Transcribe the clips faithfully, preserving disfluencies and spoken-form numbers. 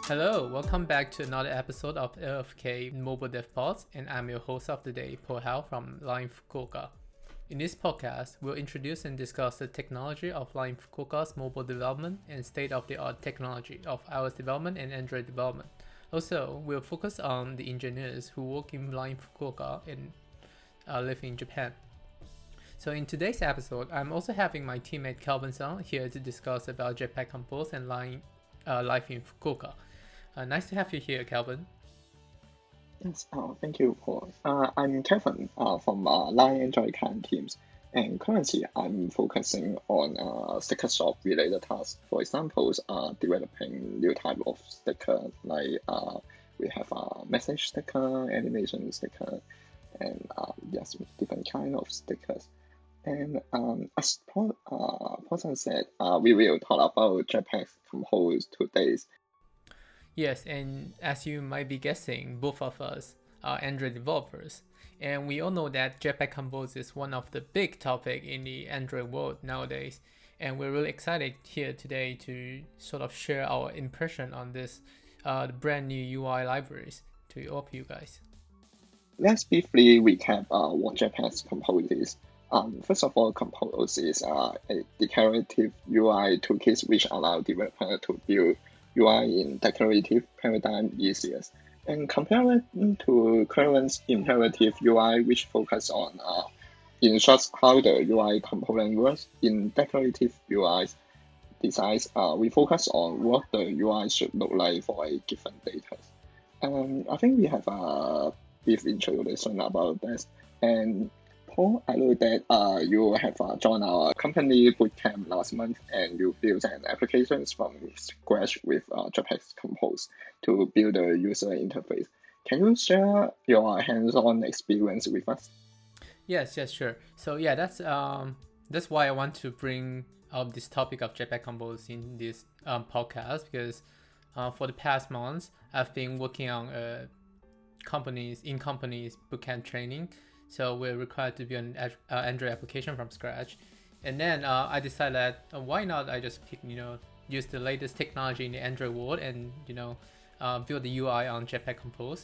Hello, welcome back to another episode of L F K Mobile Dev Pods, and I'm your host of the day, Paul Hao from Line Fukuoka. In this podcast, we'll introduce and discuss the technology of Line Fukuoka's mobile development and state-of-the-art technology of iOS development and Android development. Also, we'll focus on the engineers who work in Line Fukuoka and uh, live in Japan. So in today's episode, I'm also having my teammate Calvin-san here to discuss about Jetpack Compose and Line uh, life in Fukuoka. Uh, nice to have you here, Calvin. Yes, uh, thank you, Paul. Uh, I'm Kevin uh, from uh, Line Android client teams, and currently I'm focusing on uh, sticker shop related tasks. For example, uh, developing new type of sticker, like uh, we have a message sticker, animation sticker, and uh, yes, different kind of stickers. And um, as Paul, uh, Paul said, uh, we will talk about Jetpack Compose today. Yes, and as you might be guessing, both of us are Android developers. And we all know that Jetpack Compose is one of the big topic in the Android world nowadays. And we're really excited here today to sort of share our impression on this uh, the brand new U I libraries to all of you guys. Let's briefly recap uh, what Jetpack Compose is. Um, first of all, Compose is uh, a declarative U I toolkit which allow developers to build U I in declarative paradigm easier. And compared to current imperative U I, which focus on uh, instructs how the U I component works, in declarative U I designs, uh, we focus on what the U I should look like for a given data. Um, I think we have a brief introduction about this. And Paul, I know that uh, you have uh, joined our company bootcamp last month and you built an application from scratch with uh, Jetpack Compose to build a user interface. Can you share your hands-on experience with us? Yes, yes, sure. So yeah, that's um that's why I want to bring up this topic of Jetpack Compose in this um, podcast because uh, for the past months I've been working on uh, companies in companies bootcamp training. So we're required to build an uh, Android application from scratch. And then uh, I decided that uh, why not I just pick, you know, use the latest technology in the Android world and, you know, uh, build the U I on Jetpack Compose.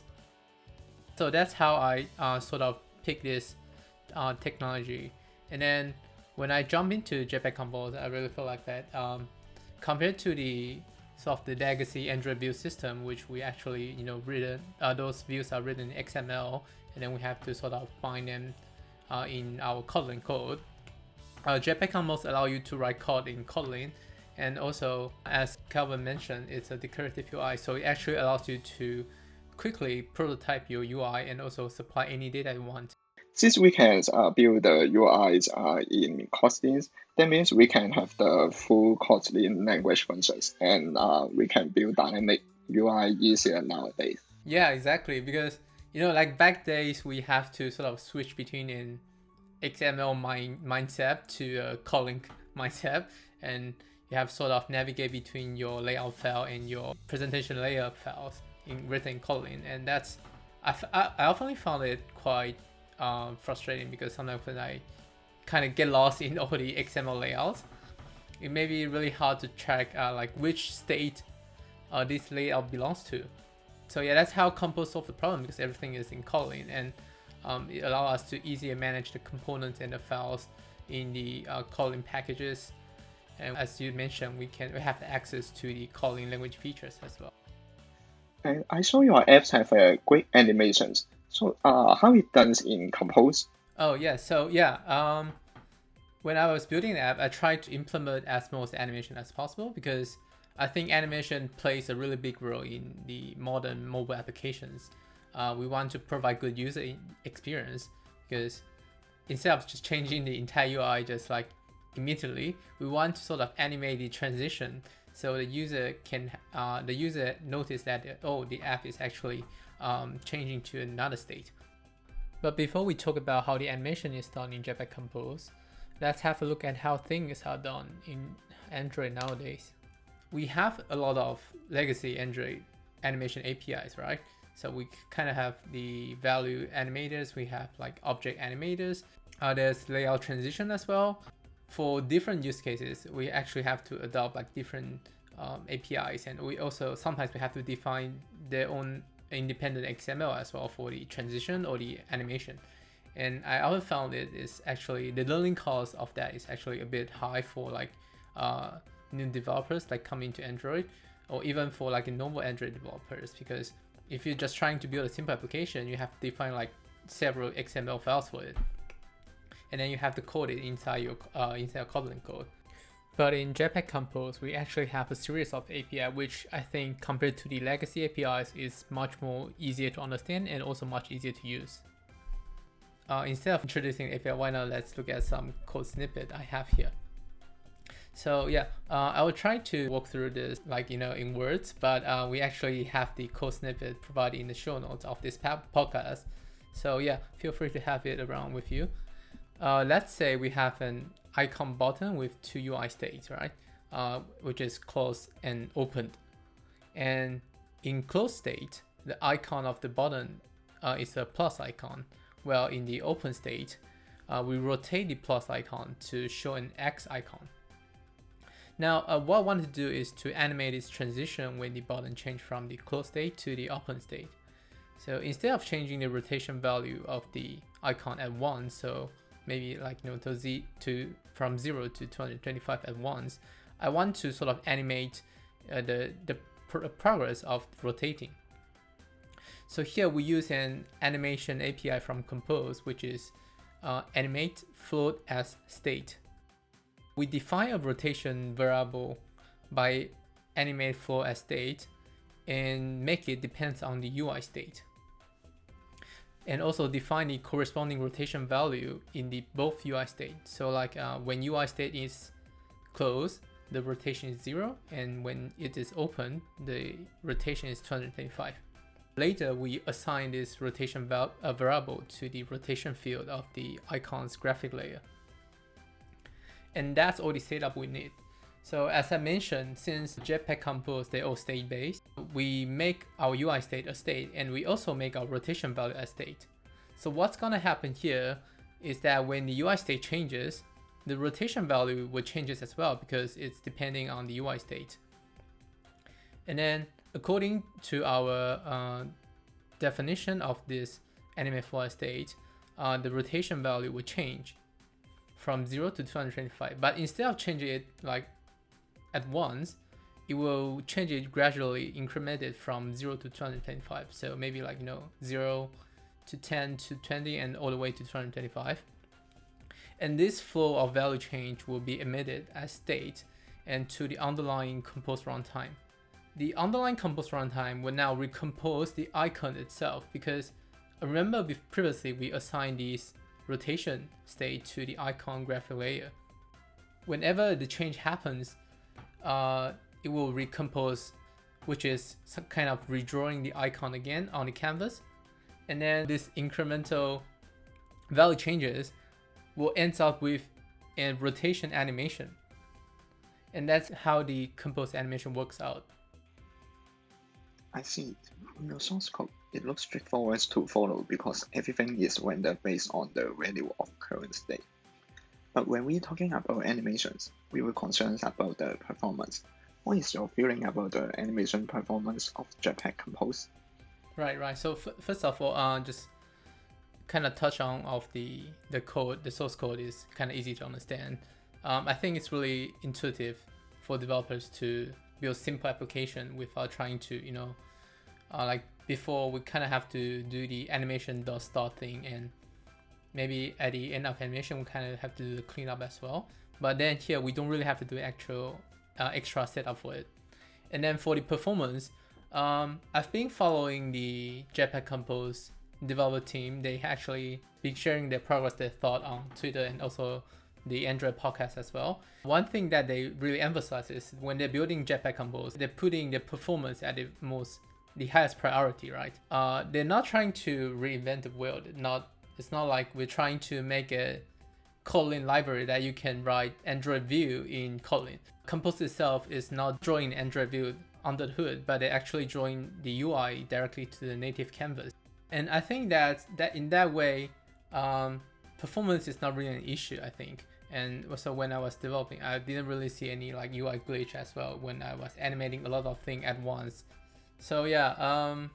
So that's how I uh, sort of pick this uh, technology. And then when I jump into Jetpack Compose, I really feel like that um, compared to the sort of the legacy Android view system, which we actually, you know, written, uh, those views are written in X M L, and then we have to sort of find them uh, in our Kotlin code. Uh, Jetpack Compose allow you to write code in Kotlin, and also, as Calvin mentioned, it's a declarative U I, so it actually allows you to quickly prototype your U I and also supply any data you want. Since we can uh, build the U Is uh, in Kotlin, that means we can have the full Kotlin language functions, and uh, we can build dynamic U I easier nowadays. Yeah, exactly, because you know, like back days, we have to sort of switch between an X M L mind mindset to a Kotlin mindset, and you have sort of navigate between your layout file and your presentation layer files in written in Kotlin, and that's I, I, I often found it quite uh, frustrating because sometimes when I kind of get lost in all the X M L layouts, it may be really hard to track uh, like which state uh, this layout belongs to. So yeah, that's how Compose solved the problem because everything is in Kotlin, and um, it allows us to easier manage the components and the files in the uh, Kotlin packages. And as you mentioned, we can we have access to the Kotlin language features as well. And I saw your apps have uh, great animations. So uh, how it done in Compose? Oh yeah, so yeah, um, when I was building the app, I tried to implement as most animation as possible because I think animation plays a really big role in the modern mobile applications. Uh, we want to provide good user experience because instead of just changing the entire U I just like immediately, we want to sort of animate the transition so the user can uh, the user notice that oh, the app is actually um, changing to another state. But before we talk about how the animation is done in Jetpack Compose, let's have a look at how things are done in Android nowadays. We have a lot of legacy Android animation A P Is, right? So we kind of have the value animators, we have like object animators, uh, there's layout transition as well. For different use cases, we actually have to adopt like different um, A P Is, and we also sometimes we have to define their own independent X M L as well for the transition or the animation. And I also found it is actually the learning cost of that is actually a bit high for like uh, new developers like coming to Android, or even for like a normal Android developers, because if you're just trying to build a simple application, you have to define like several X M L files for it, and then you have to code it inside your uh, inside your Kotlin code. But in Jetpack Compose, we actually have a series of A P I, which I think compared to the legacy A P Is is much more easier to understand and also much easier to use. Uh, instead of introducing A P I, why not let's look at some code snippet I have here. So yeah, uh, I will try to walk through this like, you know, in words, but uh, we actually have the code snippet provided in the show notes of this podcast. So yeah, feel free to have it around with you. Uh, let's say we have an icon button with two U I states, right? Uh, which is closed and opened. And in closed state, the icon of the button uh, is a plus icon. Well, in the open state, uh, we rotate the plus icon to show an X icon. Now, uh, what I want to do is to animate this transition when the button changes from the closed state to the open state. So instead of changing the rotation value of the icon at once, so maybe like, you know, to z to from zero to two hundred twenty-five at once, I want to sort of animate uh, the the pr progress of rotating. So here we use an animation A P I from Compose, which is uh, animate float as state. We define a rotation variable by animate float as state and make it depends on the U I state. And also define the corresponding rotation value in the both U I state. So like uh, when U I state is closed, the rotation is zero, and when it is open, the rotation is two hundred twenty-five. Later, we assign this rotation val uh, variable to the rotation field of the icon's graphic layer. And that's all the setup we need. So as I mentioned, since Jetpack Compose, they're all state-based, we make our U I state a state, and we also make our rotation value a state. So what's gonna happen here is that when the U I state changes, the rotation value will changes as well, because it's depending on the U I state. And then according to our uh, definition of this animate float state, uh, the rotation value will change from zero to two hundred twenty-five. But instead of changing it like at once, it will change it gradually, incremented from zero to two hundred twenty-five. So maybe like, you know, zero to ten to twenty and all the way to two hundred twenty-five. And this flow of value change will be emitted as state and to the underlying Compose runtime. The underlying Compose runtime will now recompose the icon itself, because remember previously we assigned this rotation state to the icon graphic layer. Whenever the change happens, uh, it will recompose, which is some kind of redrawing the icon again on the canvas. And then this incremental value changes will end up with a rotation animation. And that's how the Compose animation works out. I see. From your source code, it looks straightforward to follow because everything is rendered based on the value of current state. But when we're talking about animations, we were concerned about the performance. What is your feeling about the animation performance of Jetpack Compose? Right, right. So f first of all, uh, just kind of touch on of the the code. The source code is kind of easy to understand. Um, I think it's really intuitive for developers to build simple application without trying to, you know, uh, like before we kind of have to do the animation dot start thing, and maybe at the end of animation we kind of have to do the cleanup as well. But then here we don't really have to do actual uh, extra setup for it. And then for the performance, um, I've been following the Jetpack Compose developer team. They actually been sharing their progress, their thought on Twitter and also the Android podcast as well. One thing that they really emphasize is when they're building Jetpack Compose, they're putting the performance at the most, the highest priority, right? Uh, they're not trying to reinvent the wheel. Not, it's not like we're trying to make a Kotlin library that you can write Android View in Kotlin. Compose itself is not drawing Android View under the hood, but they actually drawing the U I directly to the native canvas. And I think that that in that way, um, performance is not really an issue, I think. And also when I was developing, I didn't really see any like U I glitch as well when I was animating a lot of things at once. So yeah, um,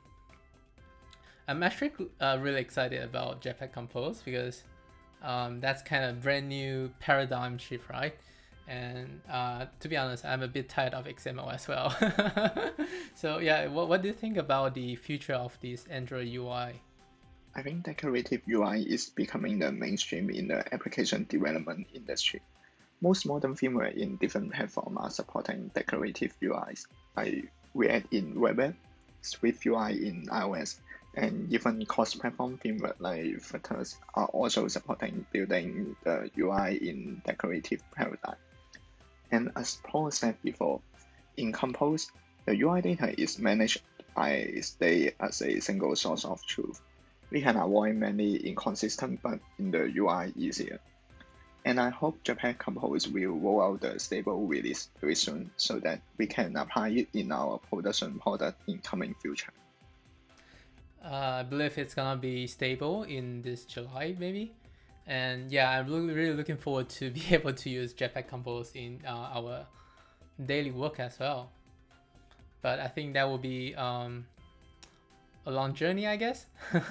I'm actually uh, really excited about Jetpack Compose because um, that's kind of brand new paradigm shift, right? And uh, to be honest, I'm a bit tired of X M L as well. So yeah, what, what do you think about the future of this Android U I? I think decorative U I is becoming the mainstream in the application development industry. Most modern firmware in different platforms are supporting decorative U Is, like React in WebApp, Swift U I in iOS, and even cross-platform firmware like Flutter are also supporting building the U I in decorative paradigm. And as Paul said before, in Compose, the U I data is managed by state as a single source of truth. We can avoid many inconsistent bugs in the U I easier. And I hope Jetpack Compose will roll out the stable release very soon so that we can apply it in our production product in coming future. Uh, I believe it's gonna be stable in this July maybe. And yeah, I'm really, really looking forward to be able to use Jetpack Compose in uh, our daily work as well. But I think that will be um, a long journey, I guess.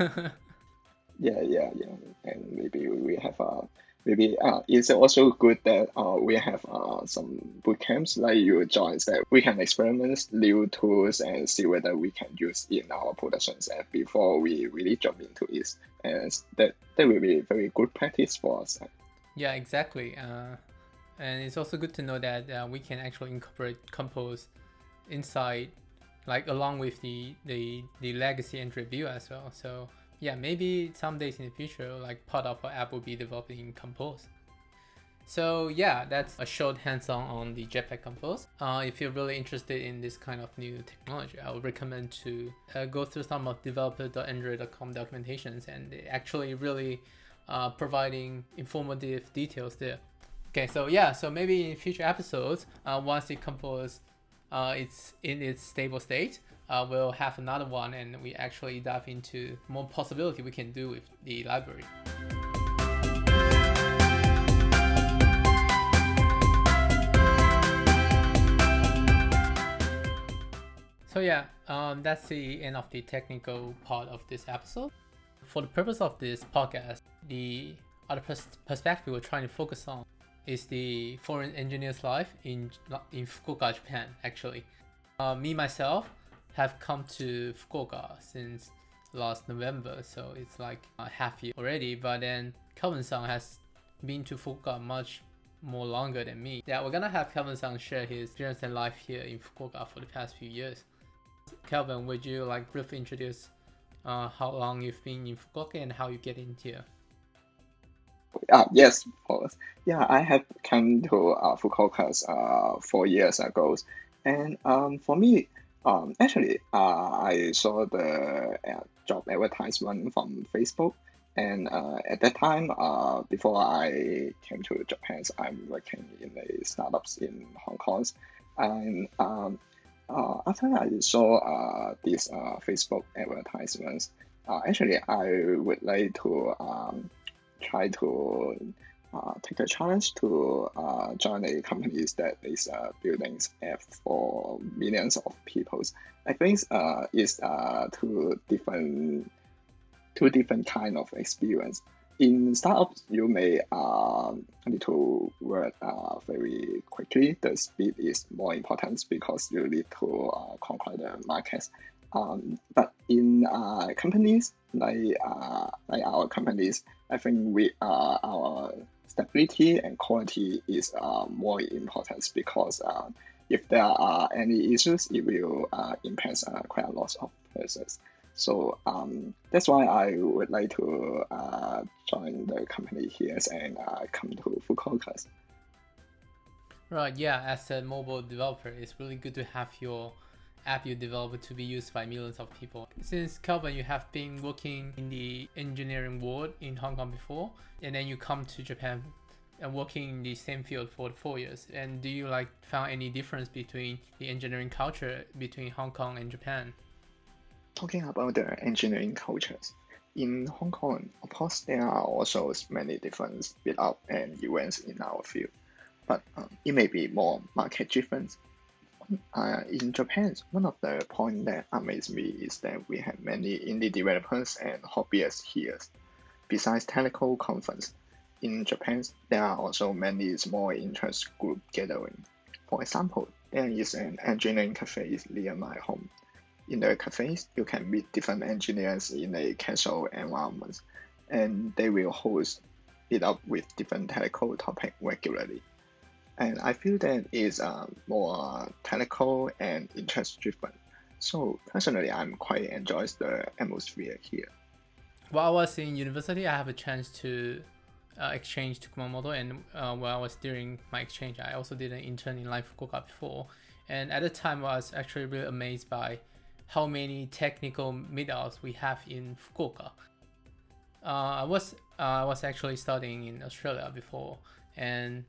Yeah, yeah, yeah. And maybe we have uh maybe uh it's also good that uh we have uh some boot camps like you join that we can experiment new tools and see whether we can use in our productions and before we really jump into it. And that that will be very good practice for us. Yeah, exactly. Uh, and it's also good to know that uh, we can actually incorporate Compose inside, like along with the the the legacy Android view as well. So yeah, maybe some days in the future, like part of our app will be developed in Compose. So yeah, that's a short hands-on on the Jetpack Compose. Uh, if you're really interested in this kind of new technology, I would recommend to uh, go through some of developer dot android dot com documentations, and they actually really uh, providing informative details there. Okay, so yeah, so maybe in future episodes, uh, once the Compose uh, it's in its stable state, uh, we'll have another one, and we actually dive into more possibility we can do with the library. So yeah, um, that's the end of the technical part of this episode. For the purpose of this podcast, the other pers- perspective we're trying to focus on is the foreign engineer's life in in Fukuoka, Japan. Actually, uh, me myself have come to Fukuoka since last November, so it's like a half year already. But then Kelvin-san has been to Fukuoka much more longer than me. Yeah, we're gonna have Kelvin-san share his experience and life here in Fukuoka for the past few years. Kelvin, would you like briefly introduce uh, how long you've been in Fukuoka and how you get in here? Uh, yes, of course. Yeah, I have come to uh, Fukuoka uh, four years ago. And um, for me, um, actually, uh, I saw the uh, job advertisement from Facebook. And uh, at that time, uh, before I came to Japan, I'm working in a startups in Hong Kong. And um, uh, after I saw uh, these uh, Facebook advertisements, uh, actually, I would like to um, try to uh, take the challenge to uh, join a company that is uh, building app for millions of people. I think uh, it's uh, two different two different kind of experience. In startups, you may uh, need to work uh, very quickly. The speed is more important because you need to uh, conquer the markets. Um, but in uh, companies like uh, like our companies, I think we uh, our stability and quality is uh, more important because uh, if there are any issues, it will uh, impact uh, quite a lot of persons. So um, that's why I would like to uh, join the company here and uh, come to Fukuoka. Right, yeah, as a mobile developer, it's really good to have your app you develop to be used by millions of people. Since Kelvin, you have been working in the engineering world in Hong Kong before, and then you come to Japan and working in the same field for four years. And do you like found any difference between the engineering culture between Hong Kong and Japan? Talking about the engineering cultures, In Hong Kong, of course, there are also many different meetup and events in our field, but um, it may be more market driven. Uh, in Japan, one of the points that amazed me is that we have many indie developers and hobbyists here. Besides technical conference, in Japan, there are also many small interest group gathering. For example, there is an engineering cafe near my home. In the cafes, you can meet different engineers in a casual environment, and they will host it up with different technical topics regularly. And I feel that is uh, more technical and interest driven. So personally, I'm quite enjoys the atmosphere here. While I was in university, I have a chance to uh, exchange to Kumamoto, and uh, while I was during my exchange, I also did an intern in Line Fukuoka before. And at the time, I was actually really amazed by how many technical meetups we have in Fukuoka. Uh, I was uh, I was actually studying in Australia before, and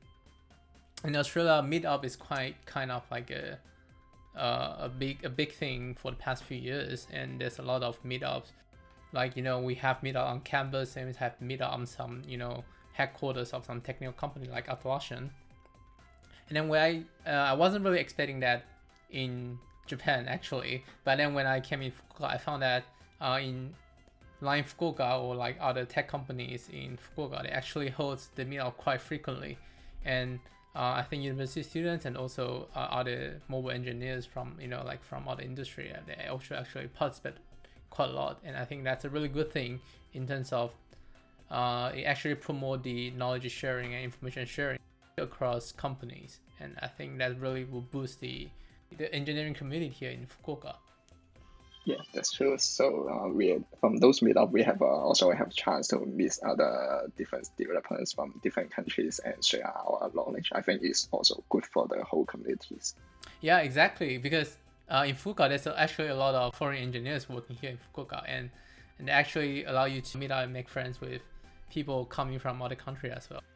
in Australia, meetup is quite kind of like a uh, a big a big thing for the past few years, and there's a lot of meetups. Like, you know, we have meetup on campus, and we have meetup on some, you know, headquarters of some technical company like Atlassian. And then when I uh, I wasn't really expecting that in Japan actually, but then when I came in Fukuoka, I found that uh, in Line Fukuoka or like other tech companies in Fukuoka, they actually host the meetup quite frequently, and uh, I think university students and also uh, other mobile engineers from, you know, like from other industry, uh, they also actually participate quite a lot, and I think that's a really good thing in terms of uh, it actually promote the knowledge sharing and information sharing across companies, and I think that really will boost the the engineering community here in Fukuoka. Yeah, that's true. So uh, we from those meetup we have uh, also have chance to meet other different developers from different countries and share our knowledge. I think it's also good for the whole communities. Yeah, exactly, because uh, in Fukuoka there's actually a lot of foreign engineers working here in Fukuoka, and and they actually allow you to meet up and make friends with people coming from other countries as well.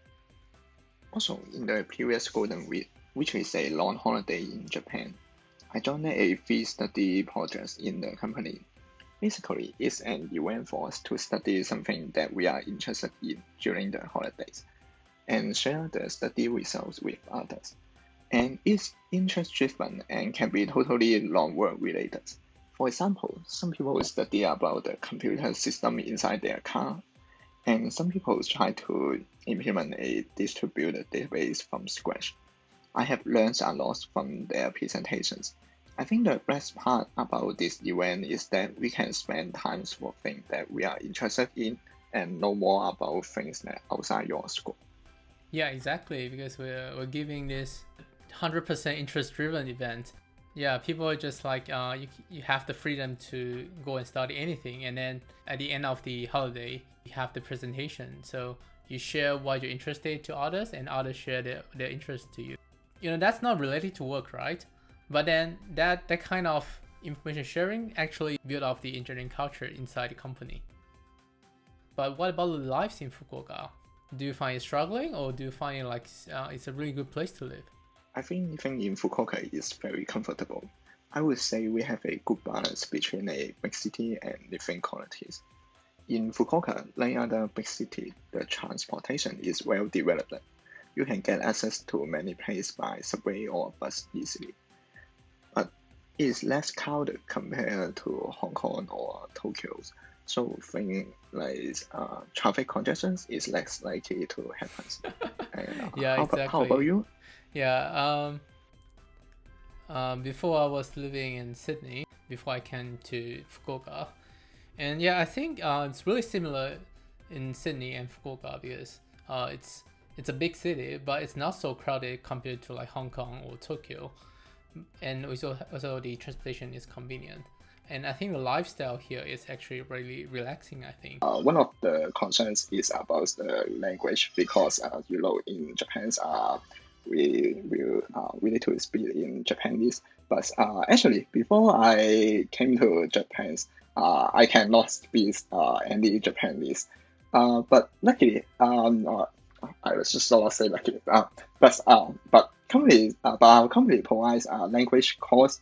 Also, in the previous Golden Week, which is a long holiday in Japan, I joined a field study project in the company. Basically, it's an event for us to study something that we are interested in during the holidays and share the study results with others. And it's interest driven and can be totally non-work related. For example, some people study about the computer system inside their car, and some people try to implement a distributed database from scratch. I have learned a lot from their presentations. I think the best part about this event is that we can spend time for things that we are interested in and know more about things that outside your school. Yeah, exactly, because we're, we're giving this one hundred percent interest driven event. Yeah, people are just like, uh, you, you have the freedom to go and study anything, and then at the end of the holiday, you have the presentation. So you share what you're interested to others, and others share their, their interest to you. You know, that's not related to work, right? But then that, that kind of information sharing actually build up the engineering culture inside the company. But what about the lives in Fukuoka? Do you find it struggling, or do you find it like uh, it's a really good place to live? I think living in Fukuoka is very comfortable. I would say we have a good balance between a big city and living qualities. In Fukuoka, like other big city, the transportation is well developed. You can get access to many places by subway or bus easily. But it is less crowded compared to Hong Kong or Tokyo. So things like uh, traffic congestions is less likely to happen. And, uh, Yeah, how, exactly. about, how about you? Yeah, um, um, before I was living in Sydney, before I came to Fukuoka. And yeah, I think uh, it's really similar in Sydney and Fukuoka because uh, it's it's a big city, but it's not so crowded compared to like Hong Kong or Tokyo. And also, also the transportation is convenient. And I think the lifestyle here is actually really relaxing, I think. Uh, one of the concerns is about the language because uh, you know in Japan uh, we will uh, we need to speak in Japanese. But uh, actually, before I came to Japan, uh, I cannot speak uh, any Japanese. Uh, but luckily, um, uh, I was just not say luckily. Uh, but uh, but company, uh, but our company provides a language course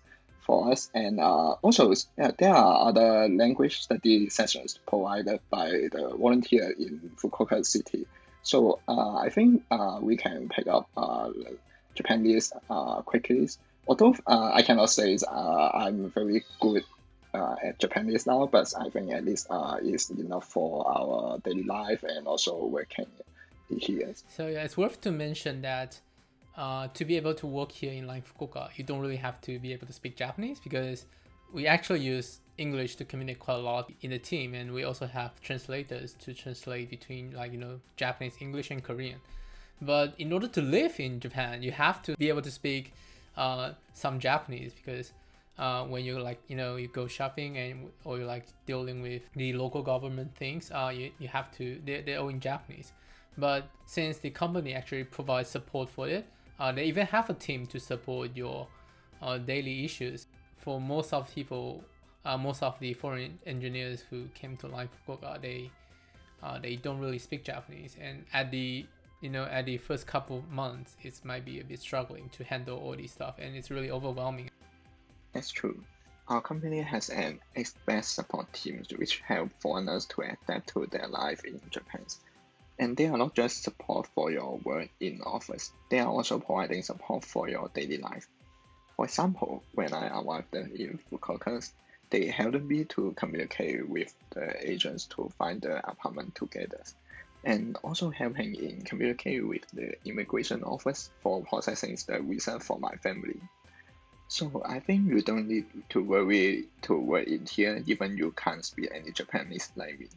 for us. And uh, also, uh, there are other language study sessions provided by the volunteer in Fukuoka City. So uh, I think uh, we can pick up uh, Japanese uh, quickly. Although uh, I cannot say uh, I'm very good uh, at Japanese now, but I think at least uh, it's enough for our daily life and also working here. So yeah, it's worth to mention that uh, to be able to work here in like Fukuoka, you don't really have to be able to speak Japanese, because we actually use English to communicate quite a lot in the team, and we also have translators to translate between like you know Japanese, English, and Korean. But in order to live in Japan, you have to be able to speak uh, some Japanese, because uh, when you like you know you go shopping and or you're like dealing with the local government things, uh, you, you have to they're, they're all in Japanese. But since the company actually provides support for it, uh, they even have a team to support your uh, daily issues. For most of people, uh, most of the foreign engineers who came to Line Fukuoka, they uh, they don't really speak Japanese, and at the you know at the first couple of months, it might be a bit struggling to handle all this stuff, and it's really overwhelming. That's true. Our company has an expert support team which help foreigners to adapt to their life in Japan. And they are not just support for your work in office, they are also providing support for your daily life. For example, when I arrived in Fukuoka, they helped me to communicate with the agents to find the apartment together, and also helping in communicate with the immigration office for processing the visa for my family. So I think you don't need to worry to work in here, even you can't speak any Japanese like me.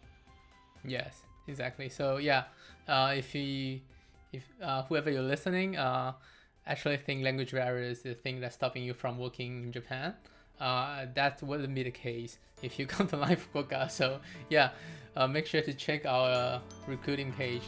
Yes. Exactly. So yeah, uh, if you, if uh, whoever you're listening, uh, actually think language barrier is the thing that's stopping you from working in Japan, uh, that wouldn't be the case if you come to Line Fukuoka. So yeah, uh, make sure to check our uh, recruiting page.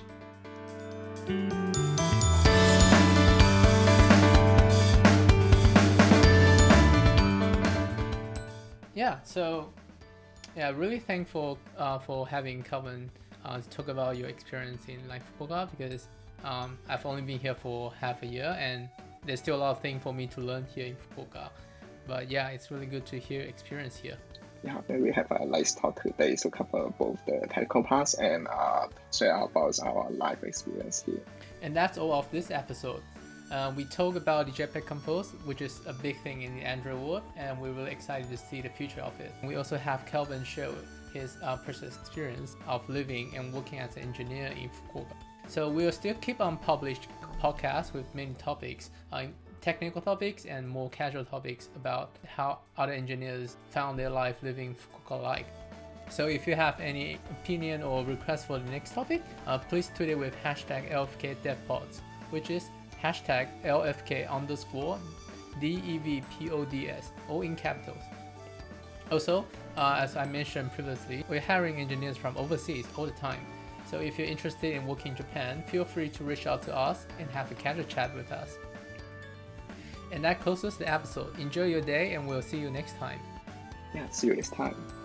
Yeah. So yeah, really thankful uh, for having Kelvin Uh, to talk about your experience in like Fukuoka, because um, I've only been here for half a year and there's still a lot of things for me to learn here in Fukuoka. But yeah, it's really good to hear your experience here. Yeah, we have a nice talk today to cover both the technical parts and uh, share about our life experience here. And that's all of this episode. Uh, we talk about the Jetpack Compose, which is a big thing in the Android world, and we're really excited to see the future of it. We also have Kelvin show his uh, personal experience of living and working as an engineer in Fukuoka. So we'll still keep on published podcasts with many topics, uh, technical topics and more casual topics about how other engineers found their life living Fukuoka like. So if you have any opinion or request for the next topic, uh, please tweet it with hashtag L F K DevPods, which is hashtag L F K underscore D E V P O D S, all in capitals. Also, uh, as I mentioned previously, we're hiring engineers from overseas all the time. So if you're interested in working in Japan, feel free to reach out to us and have a casual chat with us. And that closes the episode. Enjoy your day and we'll see you next time. Yeah, see you next time.